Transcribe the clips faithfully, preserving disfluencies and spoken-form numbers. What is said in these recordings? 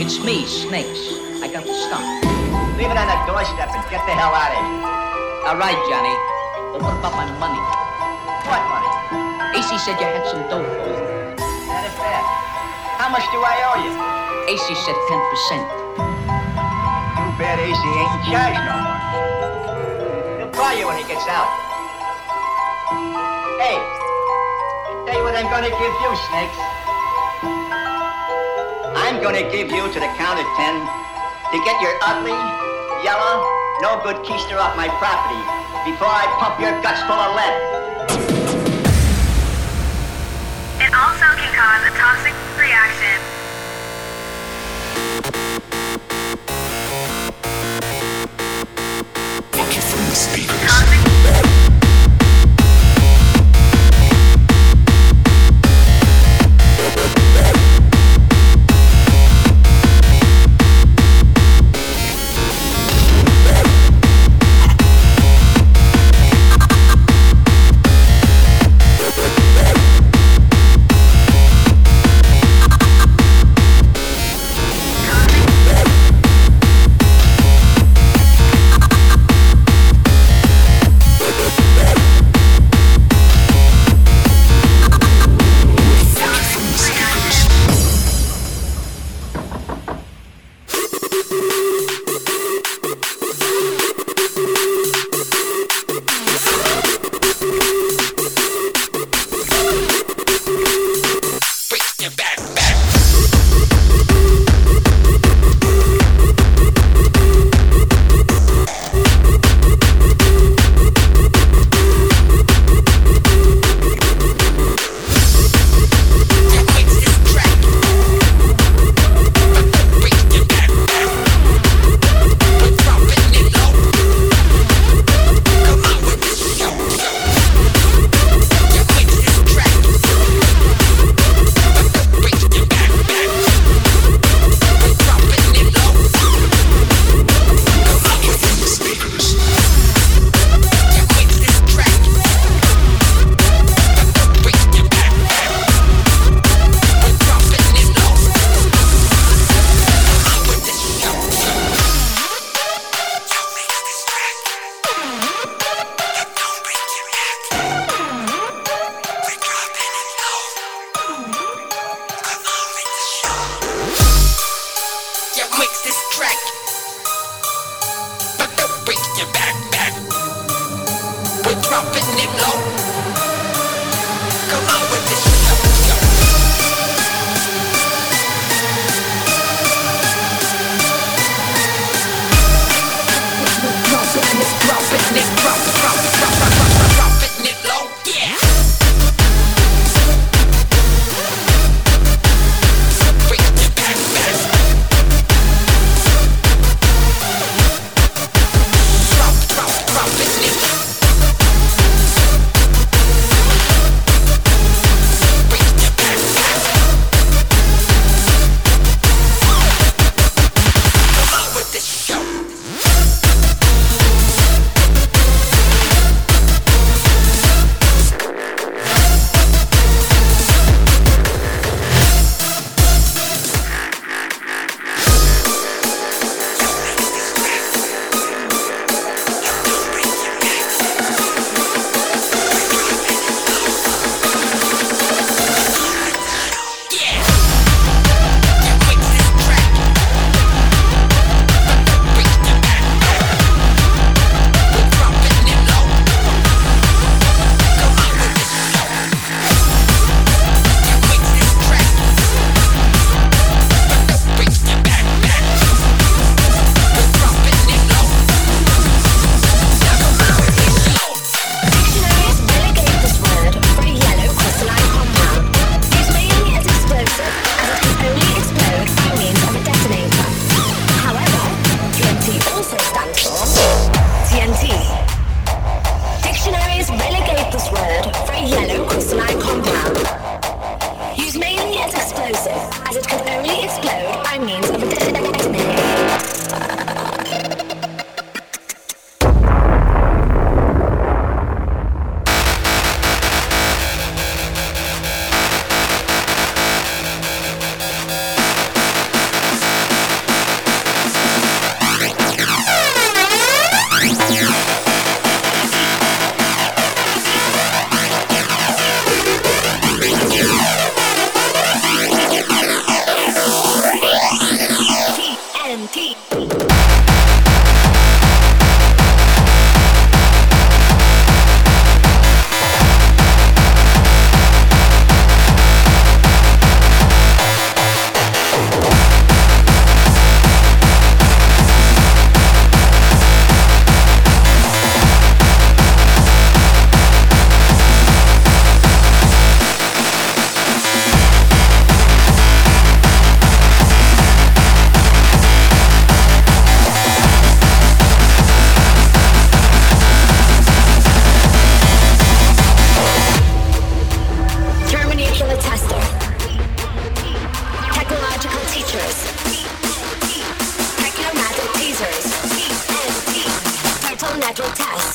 It's me, Snakes. I got the stuff. Leave it on the doorstep and get the hell out of here. All right, Johnny. But what about my money? What money? A C said you had some dough for him. That is bad. How much do I owe you? A C said ten percent. Too bad A C ain't in charge no more. He'll call you when he gets out. Hey, tell you what I'm gonna give you, Snakes. I'm gonna give you to the count of ten to get your ugly, yellow, no good keister off my property before I pump your guts full of lead. It also can cause a toxic reaction. Looking from the speakers. Toxic. features. Techno-Natural teasers. T N T. Total Natural Test.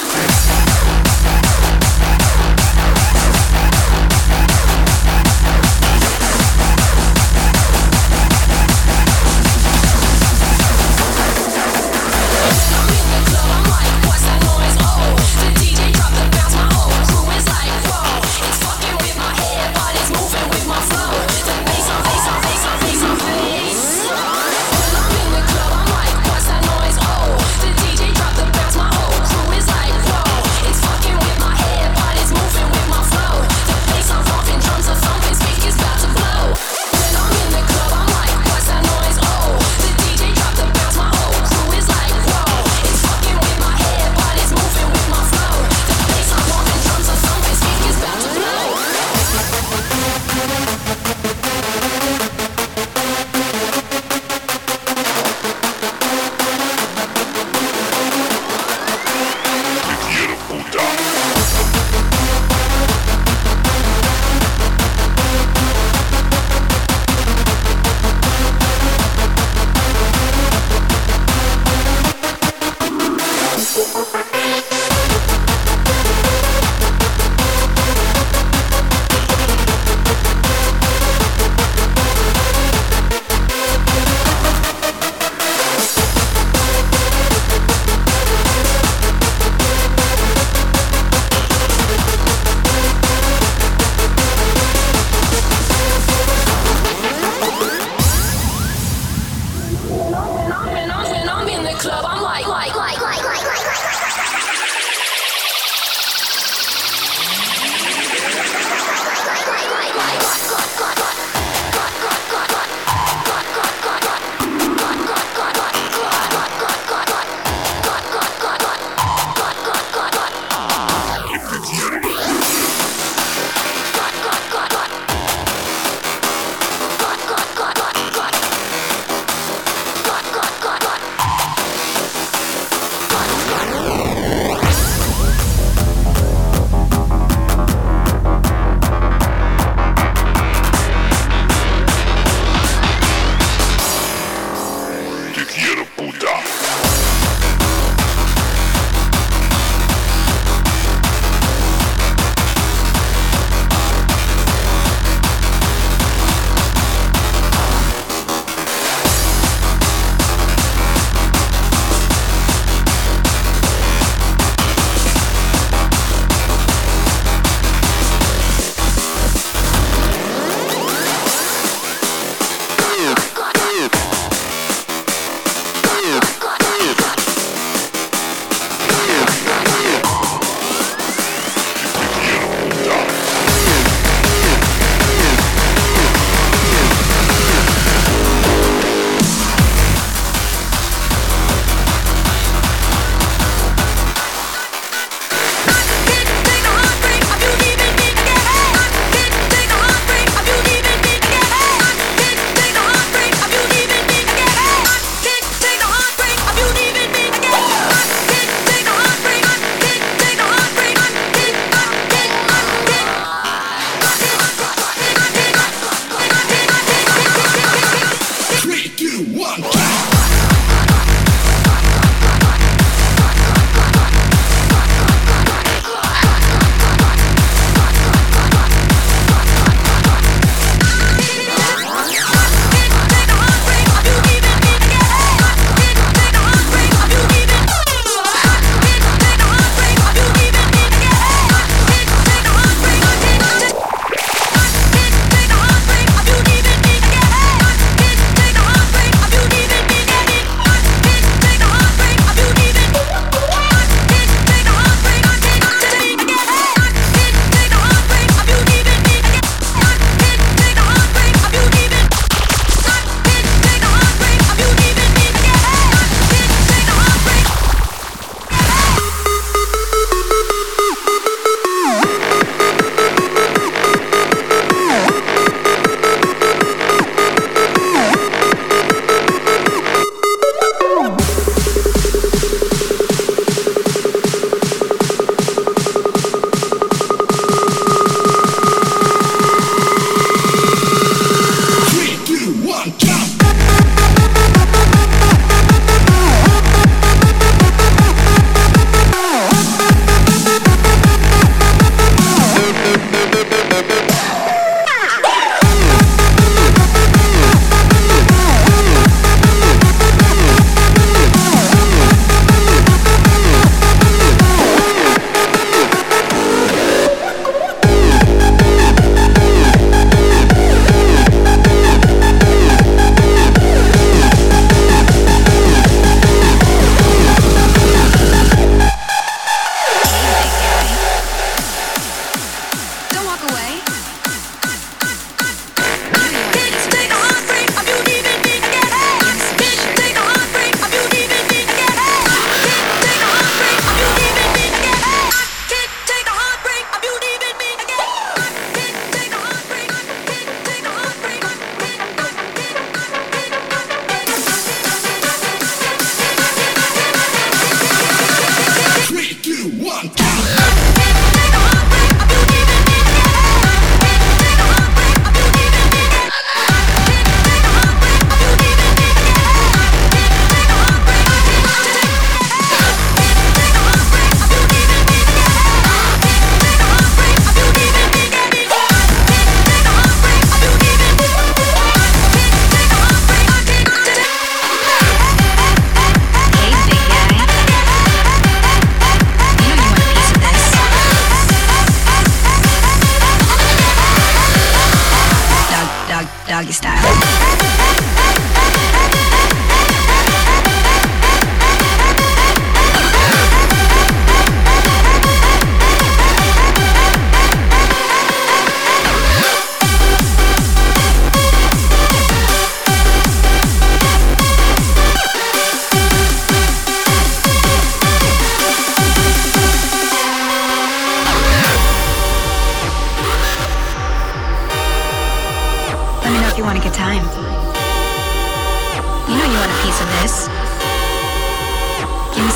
We'll be right back.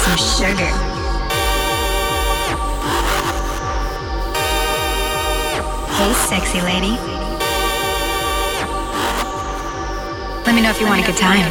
some sugar. Hey, sexy lady. Let me know if you want a good time.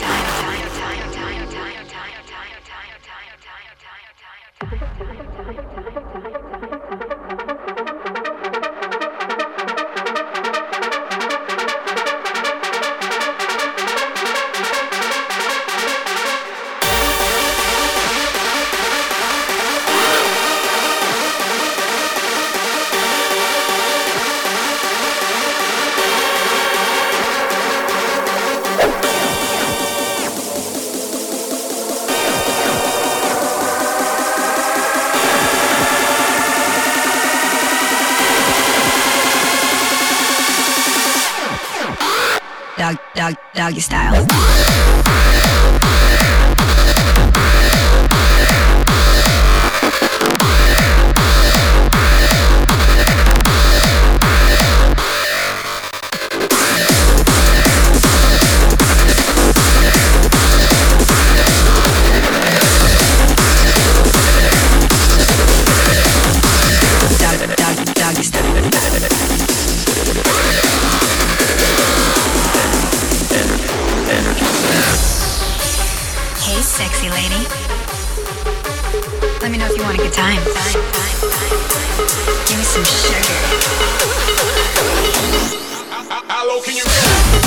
Dog, dog, doggy style. Dog, dog, doggy style. Hey, sexy lady. Let me know if you want a good time. Give me some sugar. How low can you go?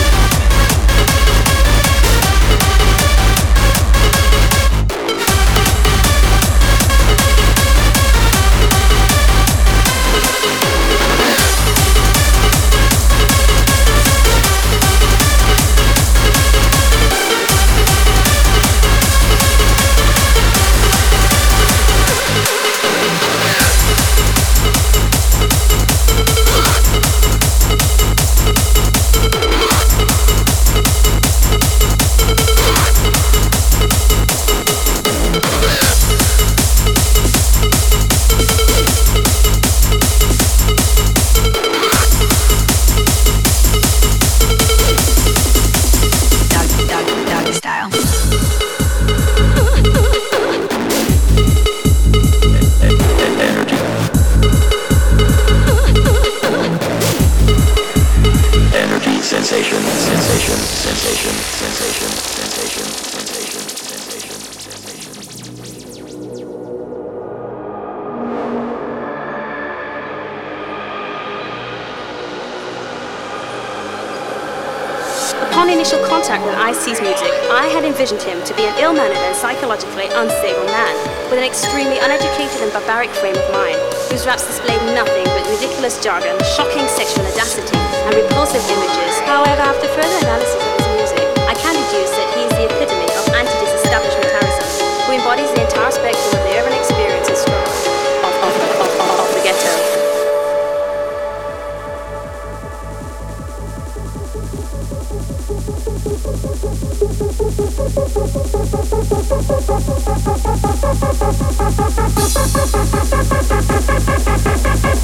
Sensation, sensation, sensation, sensation, sensation, sensation, sensation, sensation. Upon initial contact with Ice-T's music, I had envisioned him to be an ill-mannered and psychologically unstable man, with an extremely uneducated and barbaric frame of mind, whose raps displayed nothing but ridiculous jargon, shocking sexual audacity, and repulsive images. However, after further analysis of his music, I can deduce that he is the epitome of anti-disestablishmentarianism, who embodies the entire spectrum of the urban experience and struggle of, of, of, of, of the ghetto.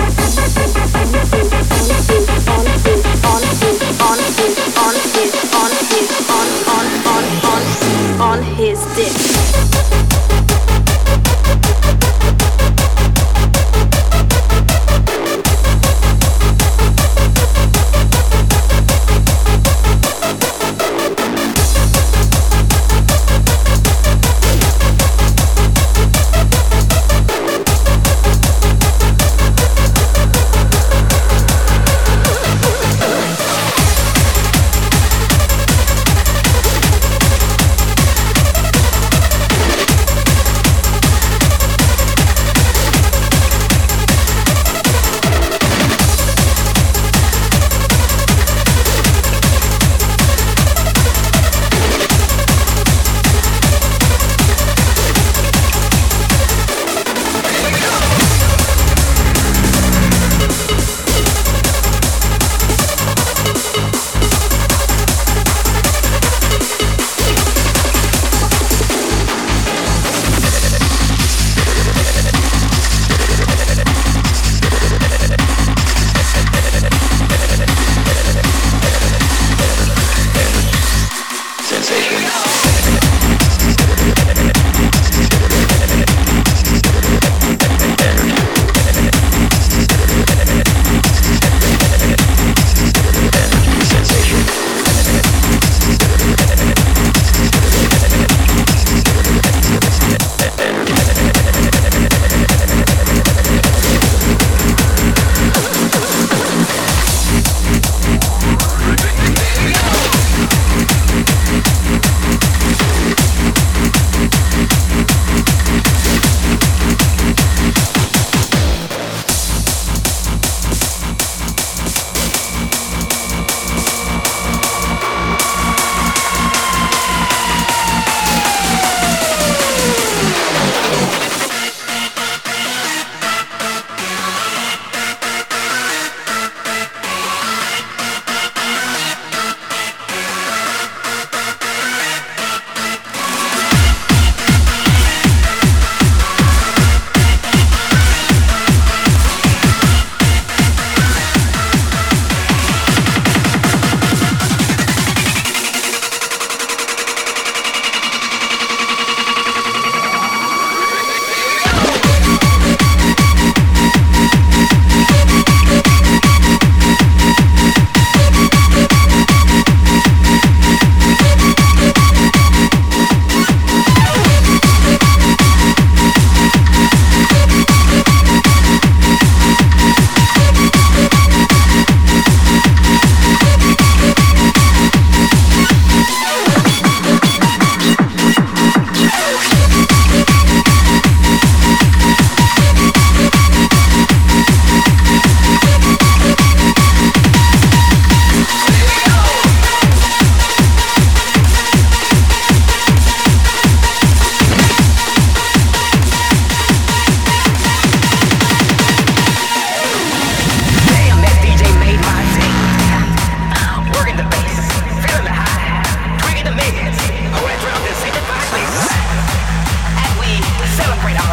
On his, on his, on his, on his, on his, on his, on his.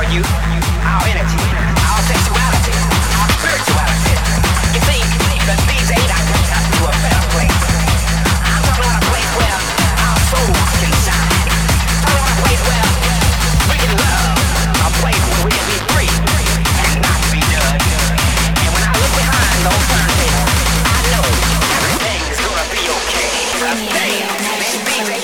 you, our energy, our sexuality, our spirituality. You think that these eight I bring us to a better place. I'm talking about a place where our souls can shine. I'm talking about a place where we can love. A place where we can be free and not be judged. And when I look behind those turntables, I know everything's gonna be okay. Stay, baby.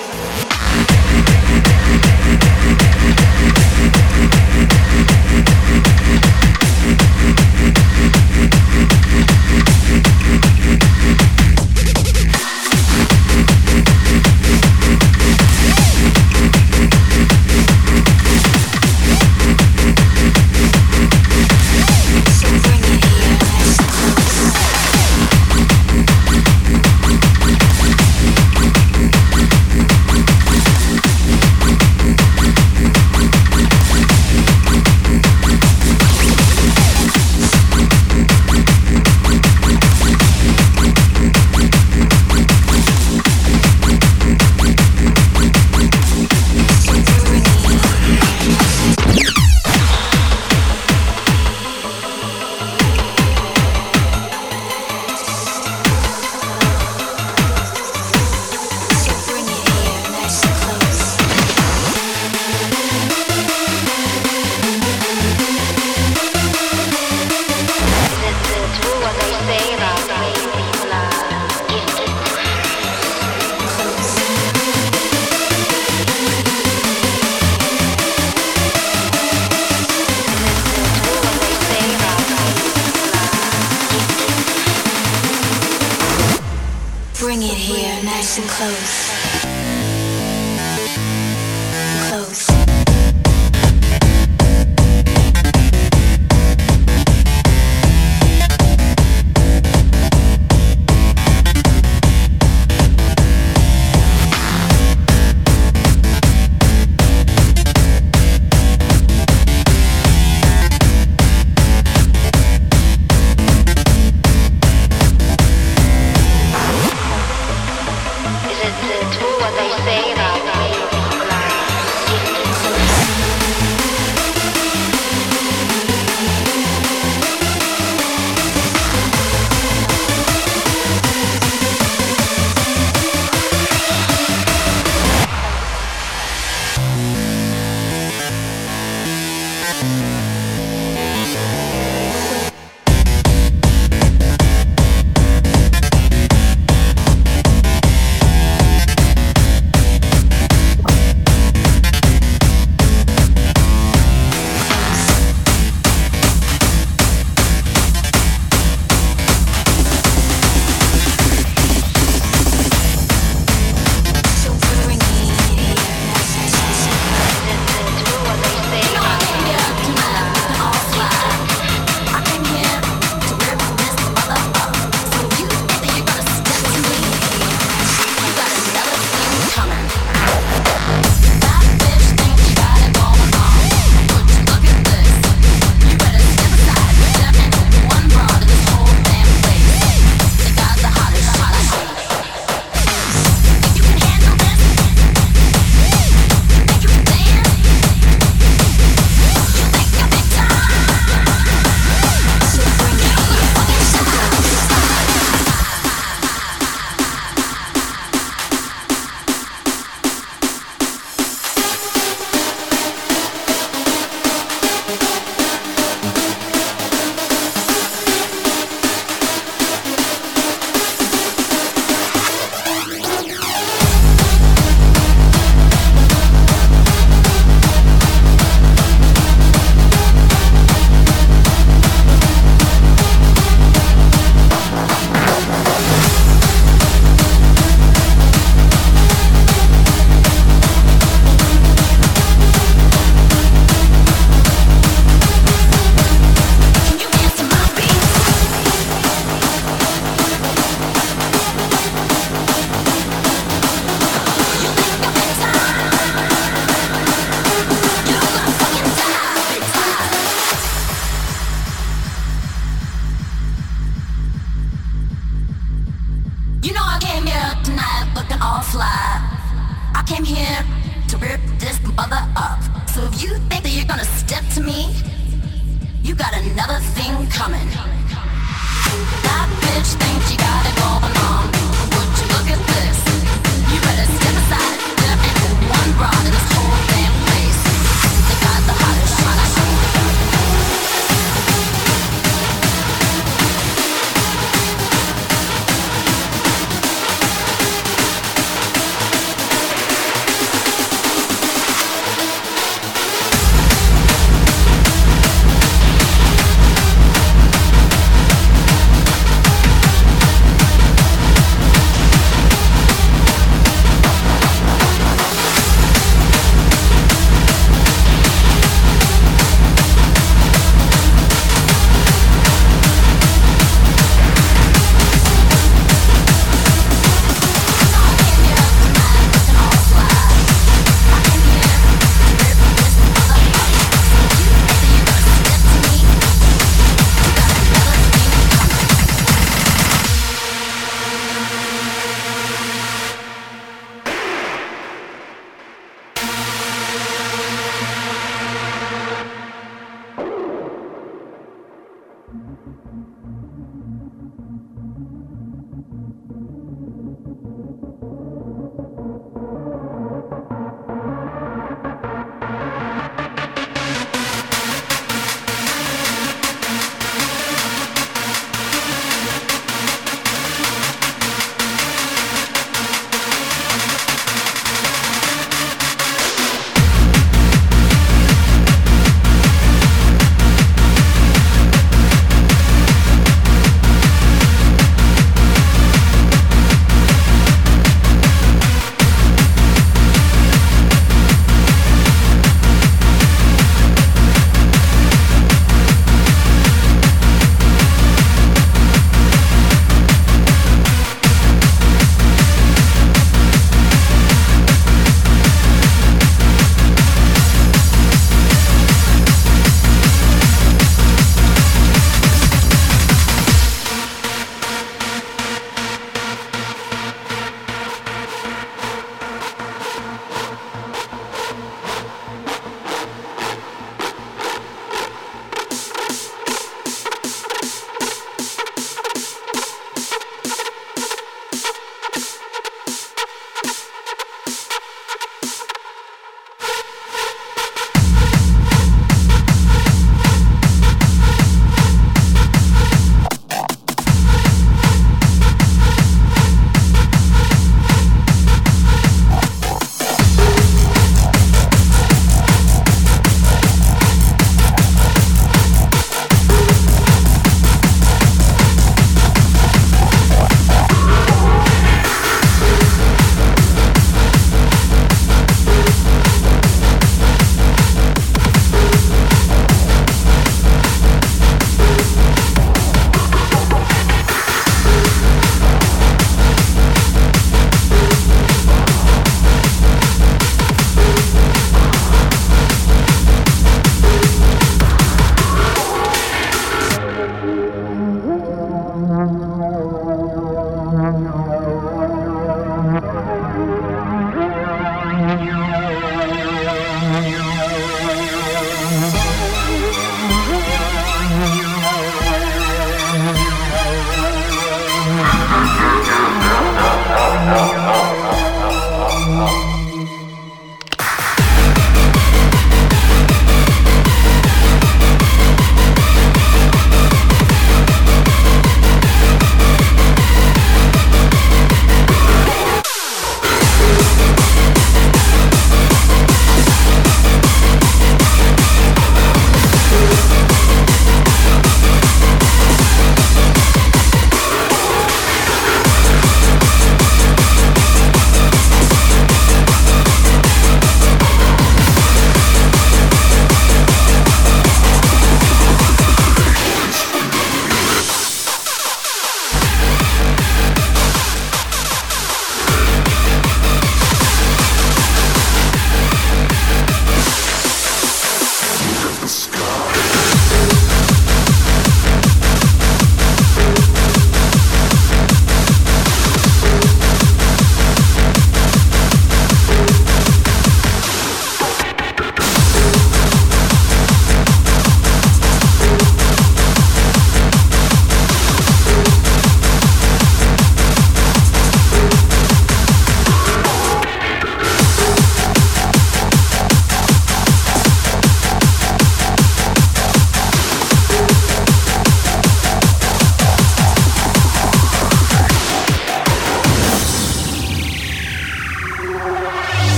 Bring it here, nice and close. Close. Is it true what they say about Knock me out. step to me, you got another thing coming. That bitch thinks you got it going on. Would you look at this? You better step aside. There ain't one broad in this whole damn place. They got the hottest shot.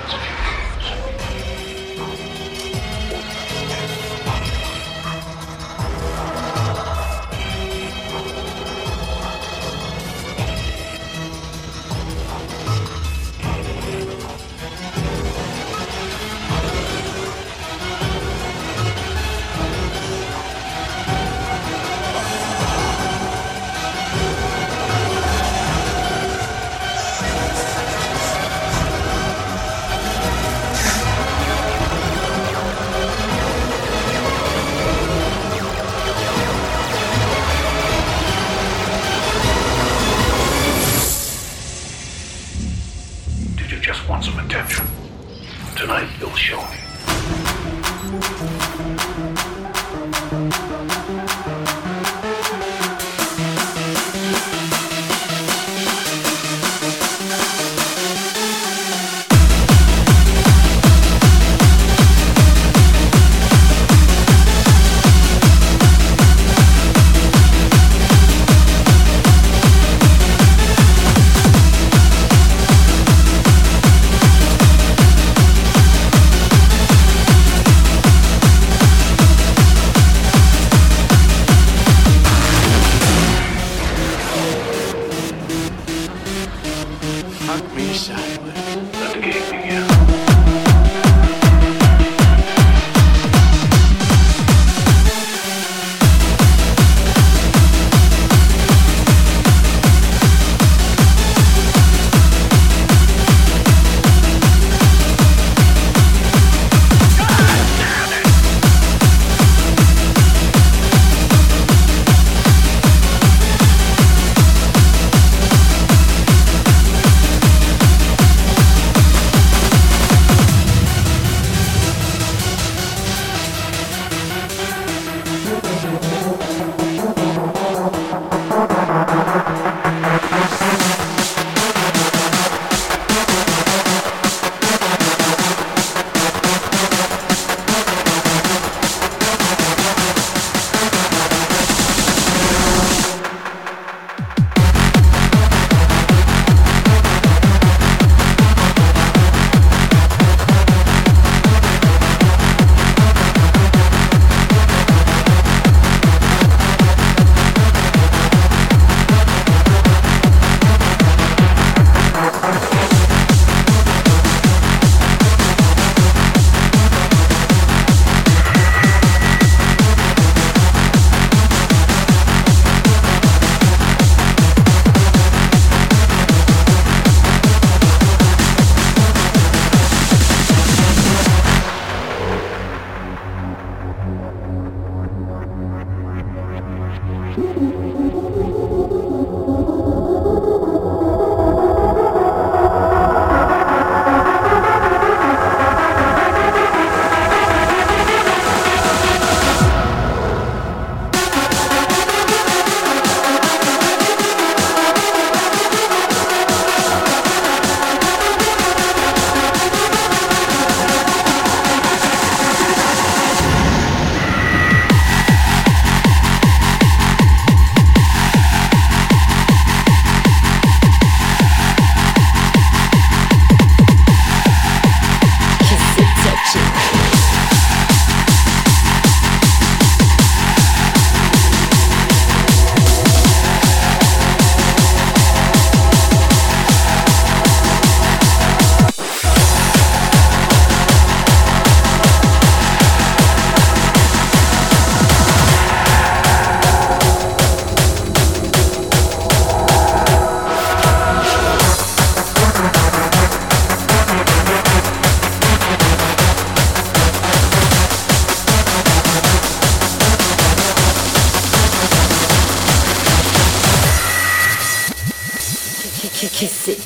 Kiss it.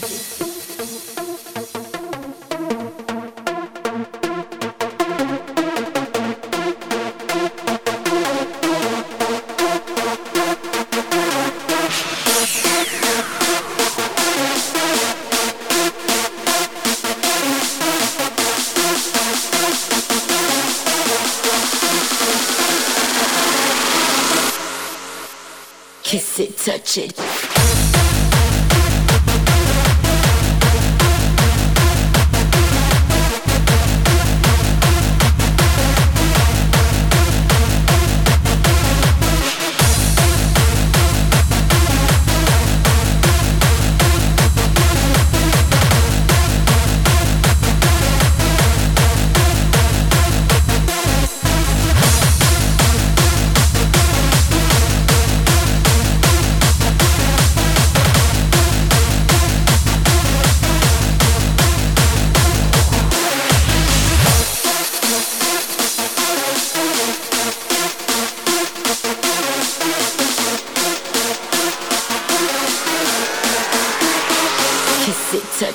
Kiss it, touch it.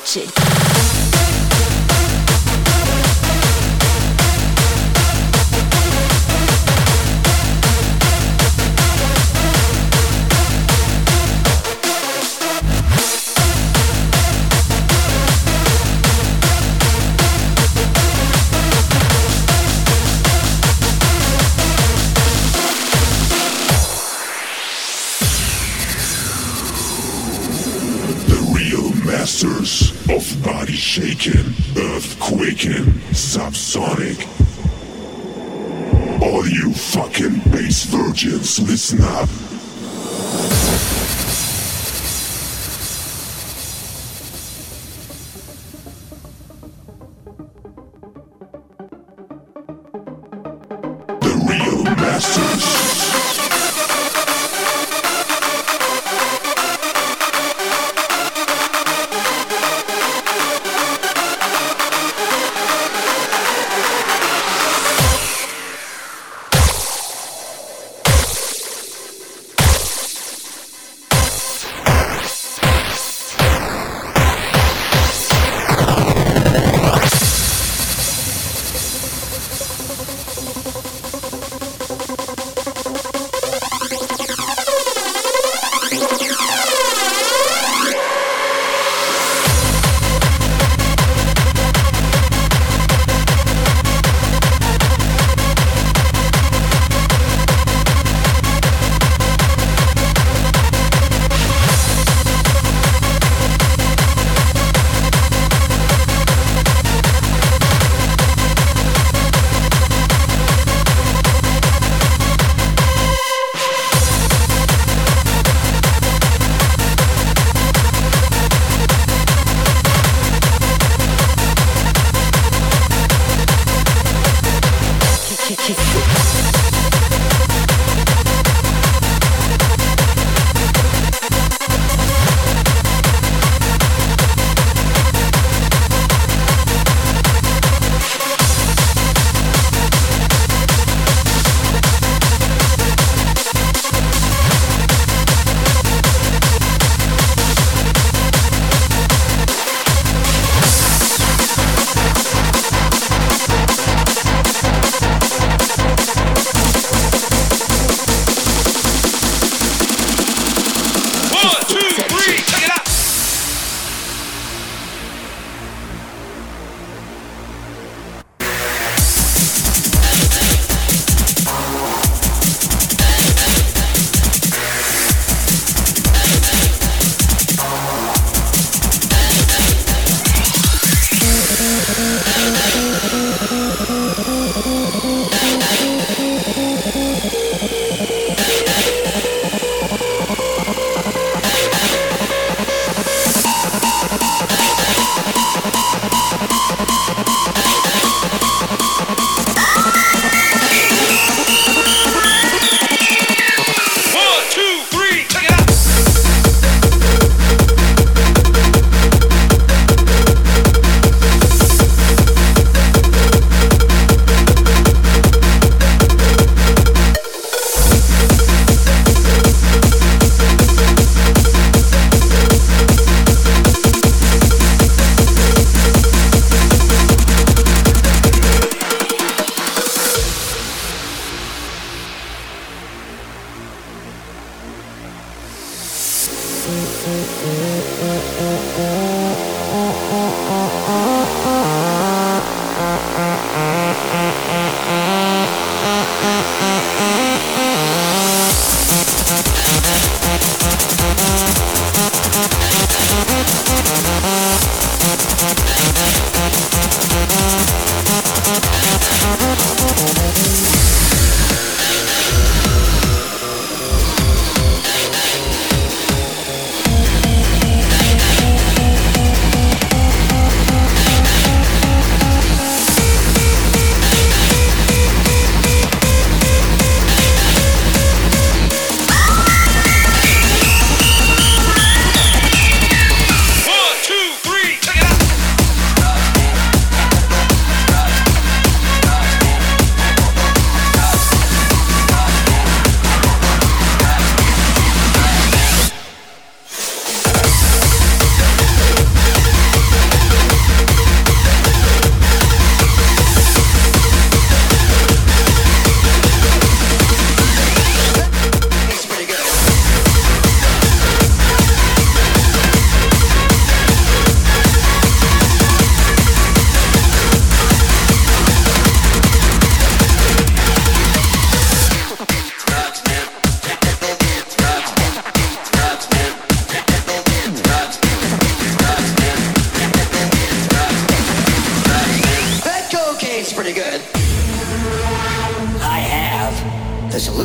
watch it. Masters of body shaking, earthquaking, subsonic. All you fucking bass virgins, listen up. The real masters.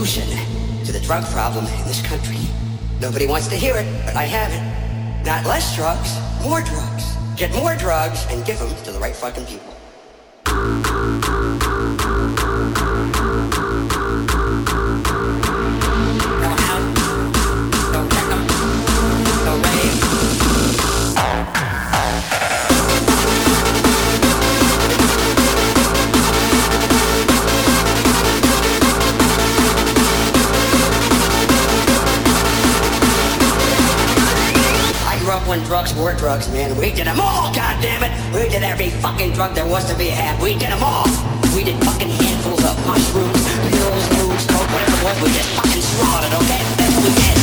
solution to the drug problem in this country. Nobody wants to hear it, but I have it. Not less drugs, more drugs. Get more drugs and give them to the right fucking people. When drugs were drugs, man, we did them all, goddammit! We did every fucking drug there was to be had, we did them all! We did fucking handfuls of mushrooms, pills, loops, coke, whatever it was, we just fucking slaughtered, okay? That's what we did.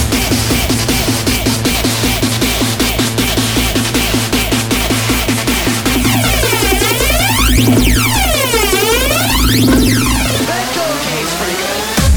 That cocaine's pretty good.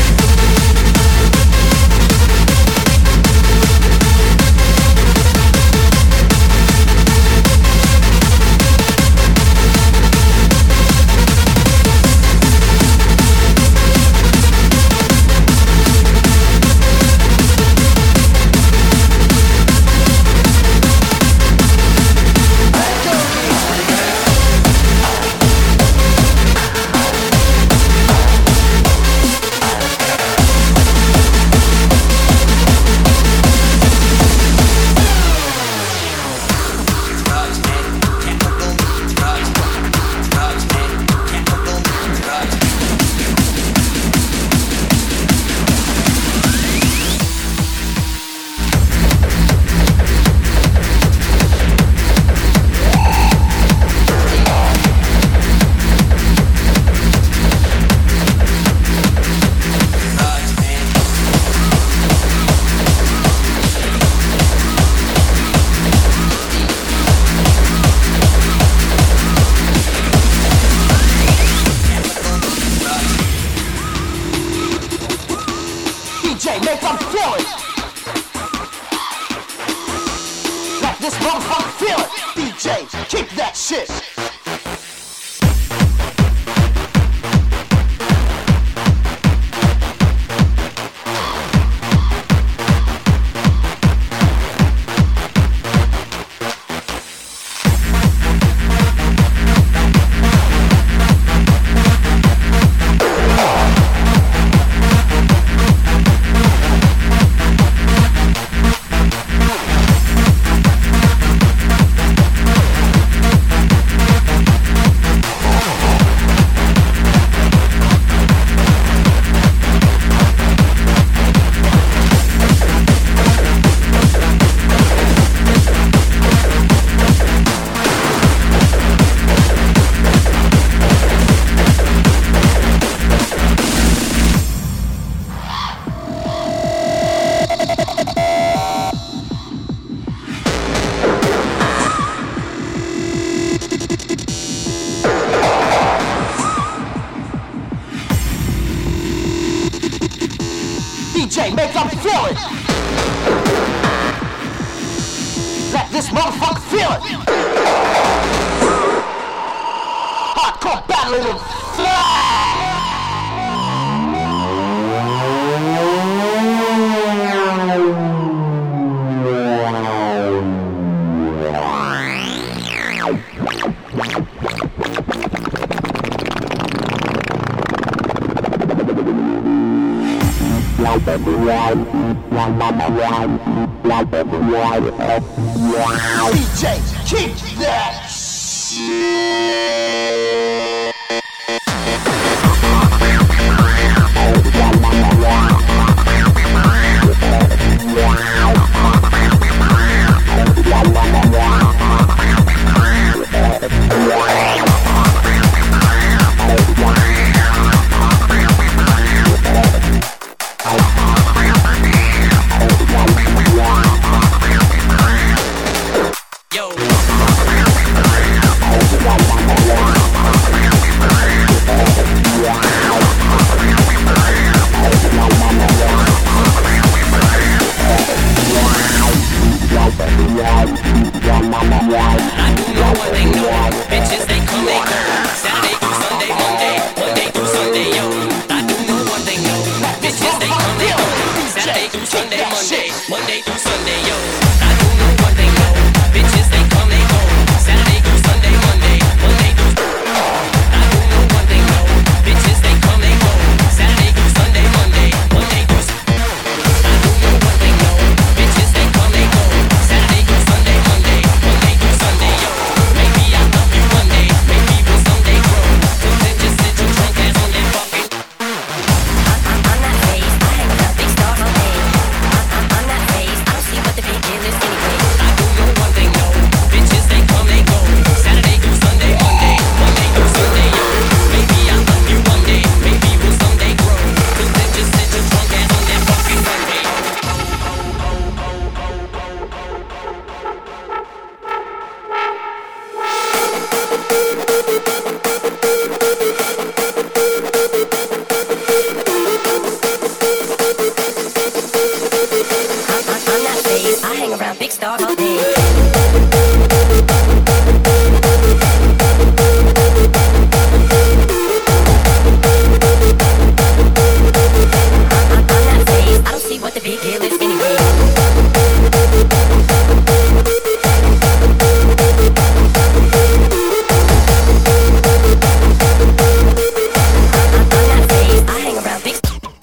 D J, keep that Bitches, through Sunday, Monday, Monday through Sunday, yo. I do know one thing, no. Bitches, they come, they go. Saturday through Sunday, Monday, Monday through. I do know one thing, no. Bitches, they come, they go. Saturday through Sunday, Monday, Monday through. I do know one thing, no. Bitches, they come, they go. Saturday through Sunday, Monday, Monday through Sunday, yo. Maybe I'll love you one day, maybe we'll someday grow. Till then, just sit your drunk ass on that fucking. On that face, I hang with a big star all day. On that face, I don't see what the big deal is anyway. I do know one thing, no. Bitches, they come, they go. Saturday through Sunday, Monday, Monday through Sunday, yo. Maybe I'll love you one day, maybe we'll someday grow. Till then, just sit your drunk ass on that fucking Sunday. On that face, I hang around big stars all day. On that face, I don't see what the big deal is anyway. On that face, I hang around big.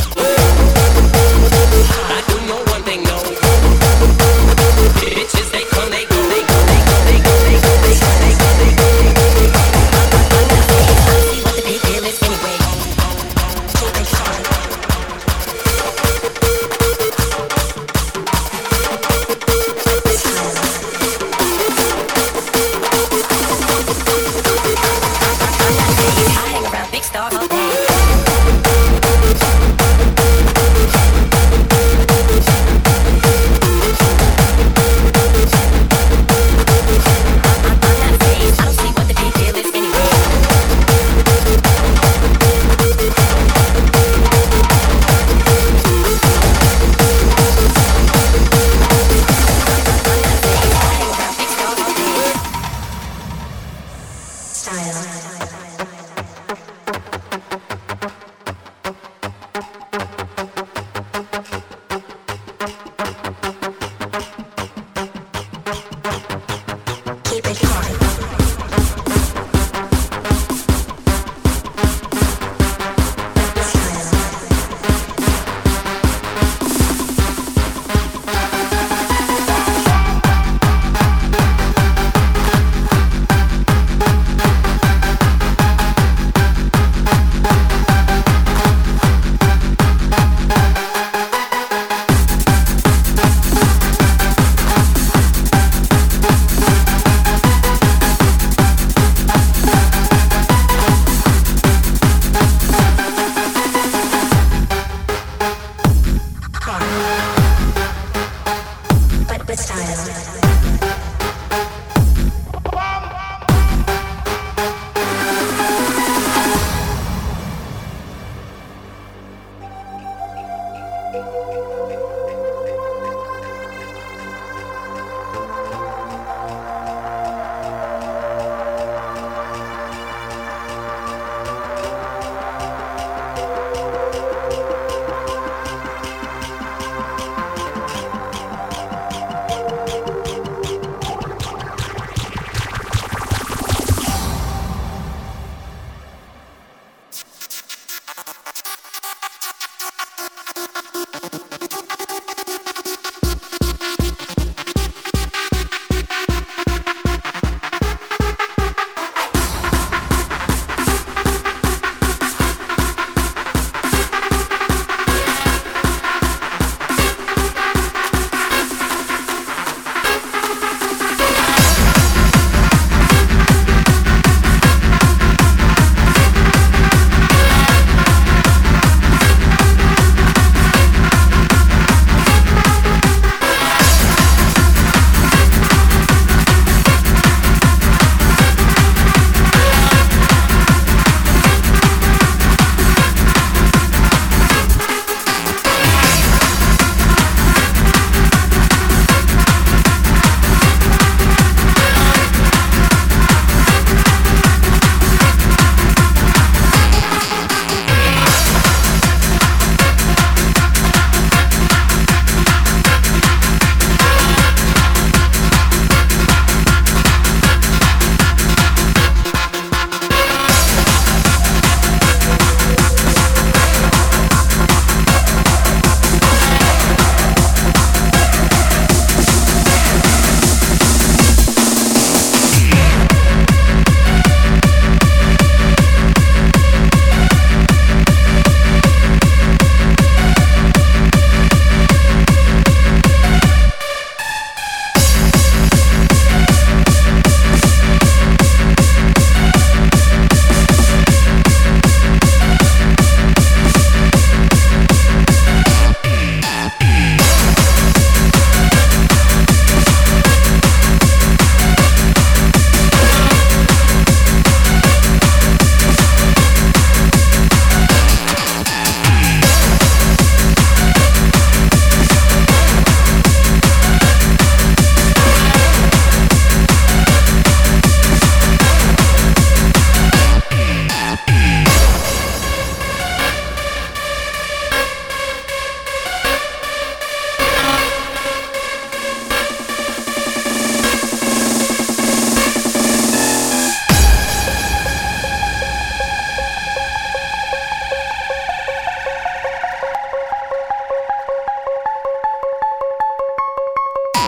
I do know one thing, no. Bitches, they come, they go, they go, they go, they go, they go, they go, they go, they go, they go, they go. On that face, I don't see what the big deal is anyway. I hang around big stars all day. On that face, I don't see what the big deal is anyway. On that face, I hang around big stars all day. Style. Keep it hard. But with style.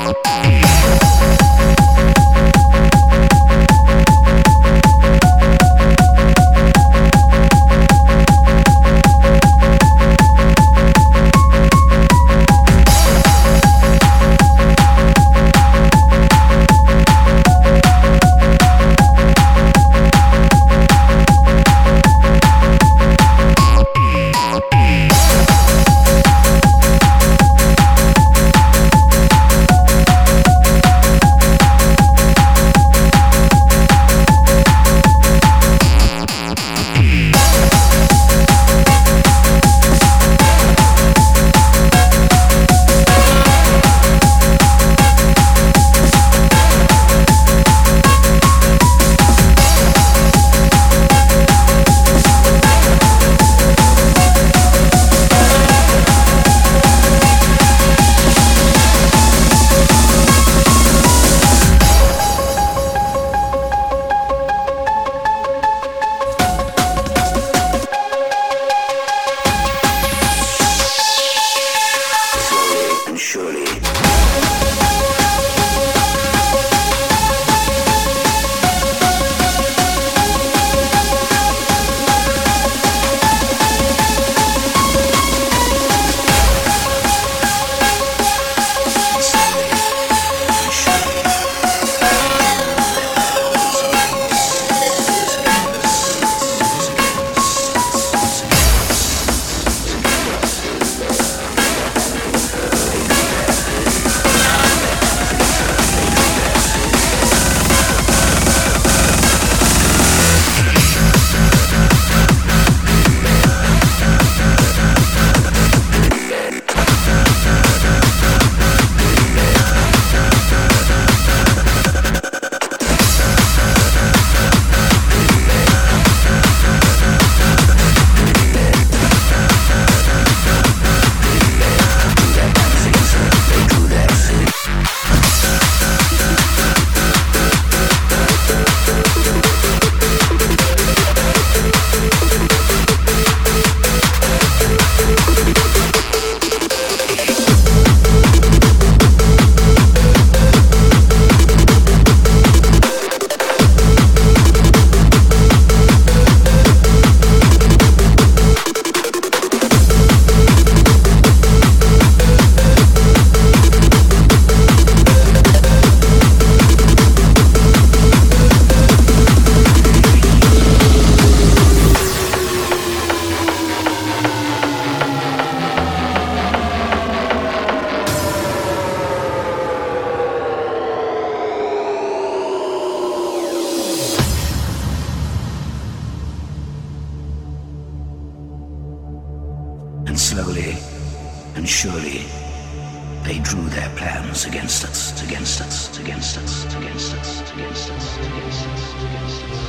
And slowly and surely they drew their plans against us, against us, against us, against us, against us, against us, against us.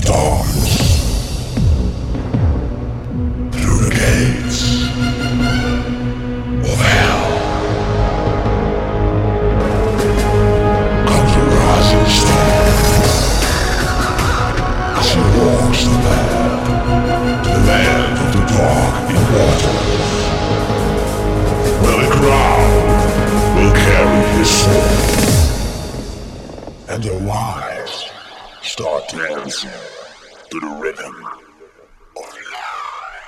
starts. Through the gates of hell comes a rising star. As he walks the land, the land of the dark immortals, where the crowd will carry his sword, and the wise start dancing to the rhythm of life.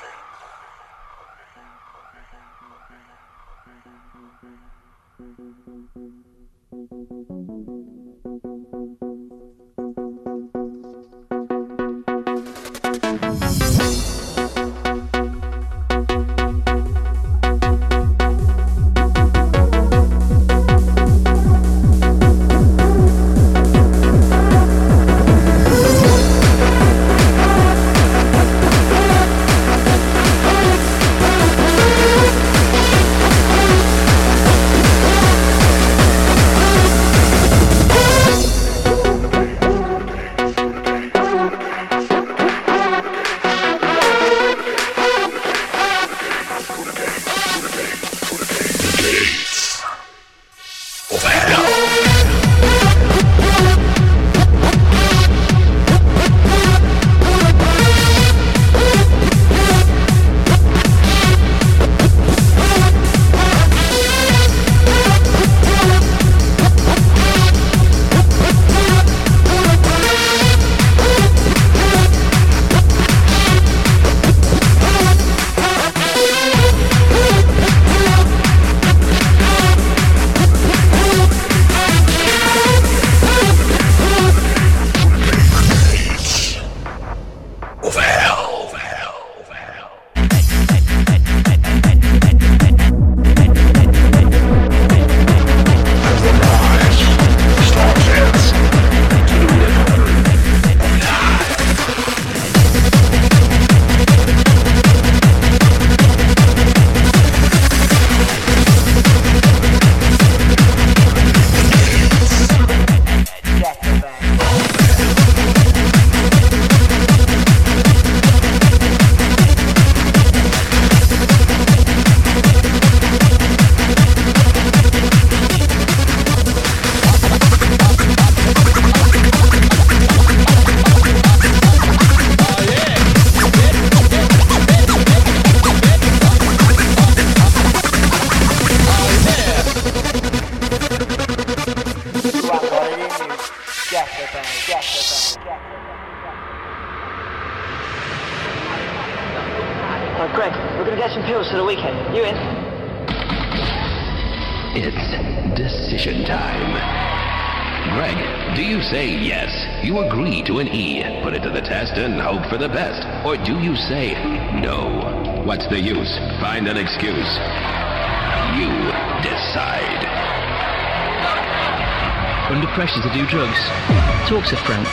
It's decision time. Greg, do you say yes? You agree to an E, put it to the test and hope for the best? Or do you say no? What's the use? Find an excuse. You decide. Under pressure to do drugs. Talk to Frank.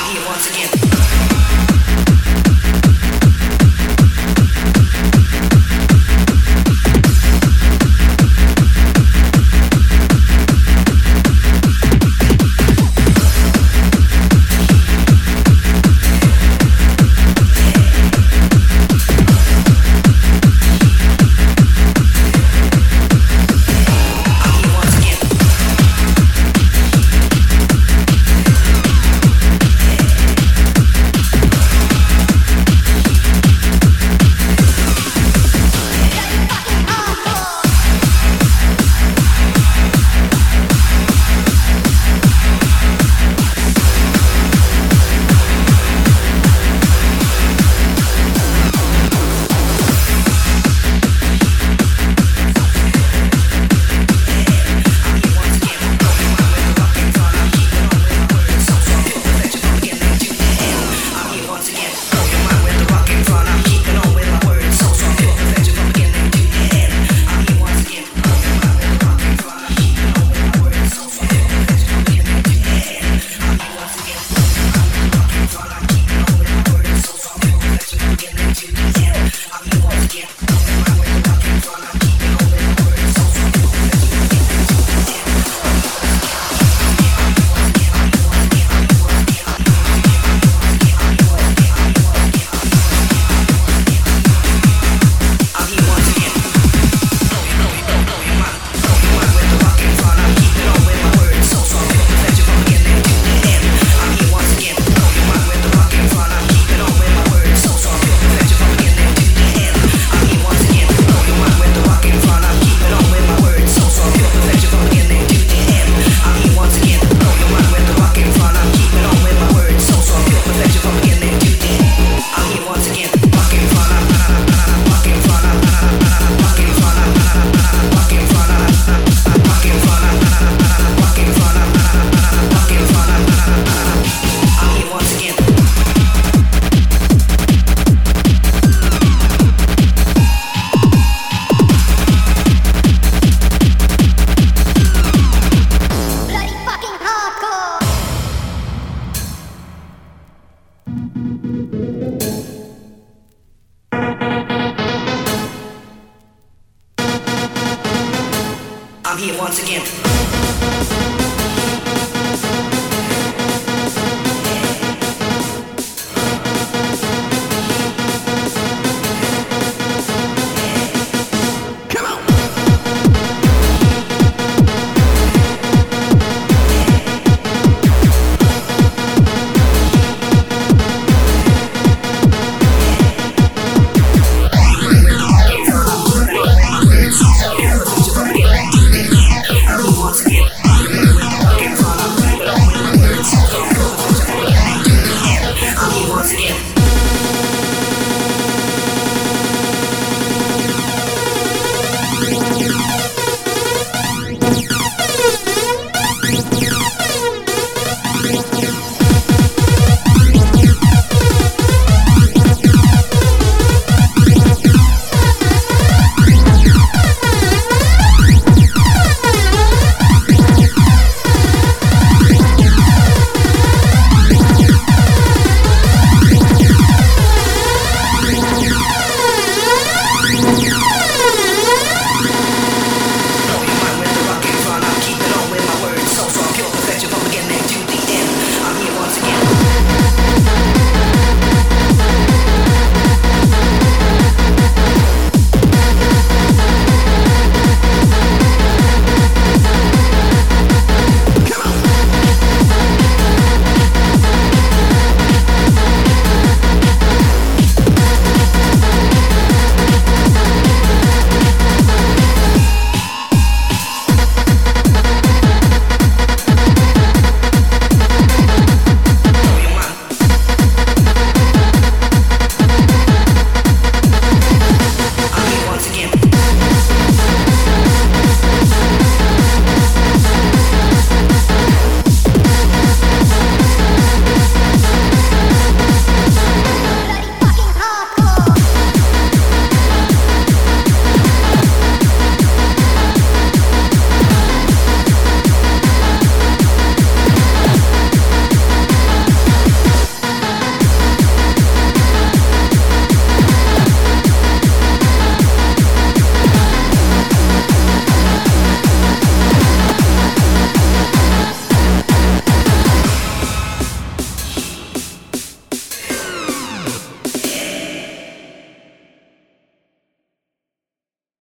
I'm here once again.